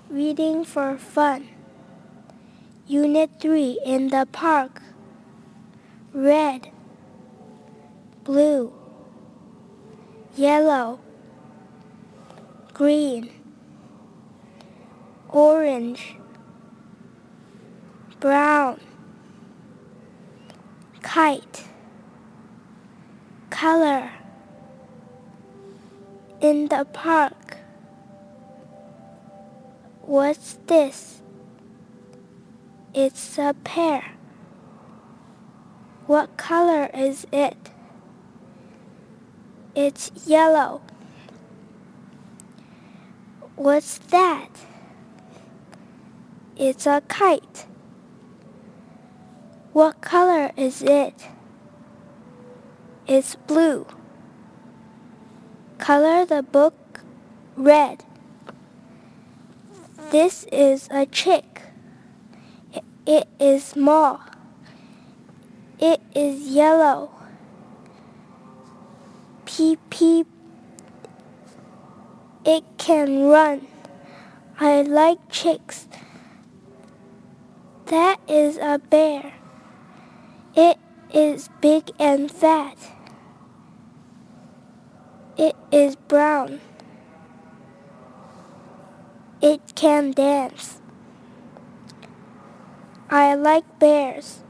Reading for fun. Unit 3 in the park. Red, blue, yellow, green, orange, brown, kite, color. In the park. What's this? It's a pear. What color is it? It's yellow. What's that? It's a kite. What color is it? It's blue. Color the book red. This is a chick. It is small. It is yellow. Peep, peep. It can run. I like chicks. That is a bear. It is big and fat. It is brown. It can dance. I like bears.